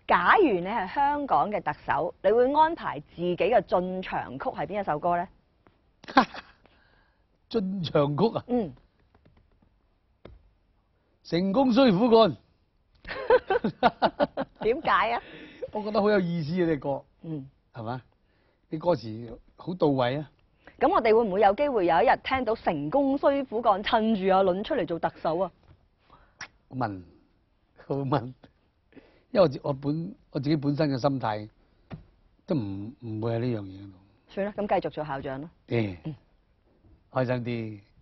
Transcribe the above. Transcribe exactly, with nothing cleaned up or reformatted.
假如你係香港嘅特首，你會安排自己嘅進場曲係邊一首歌咧？ 進場曲啊？ 嗯。 成功需苦幹。 點解啊？ 我覺得好有意思啊！呢歌， 嗯， 係嘛？啲歌詞好到位啊！ 咁我哋會唔會有機會有一日聽到成功需苦幹，趁住阿倫出嚟做特首啊？ 問，好問，因為我自我本我自己本身嘅心態都唔唔會係呢樣嘢。 算啦，咁繼續做校長啦。 誒，開心啲。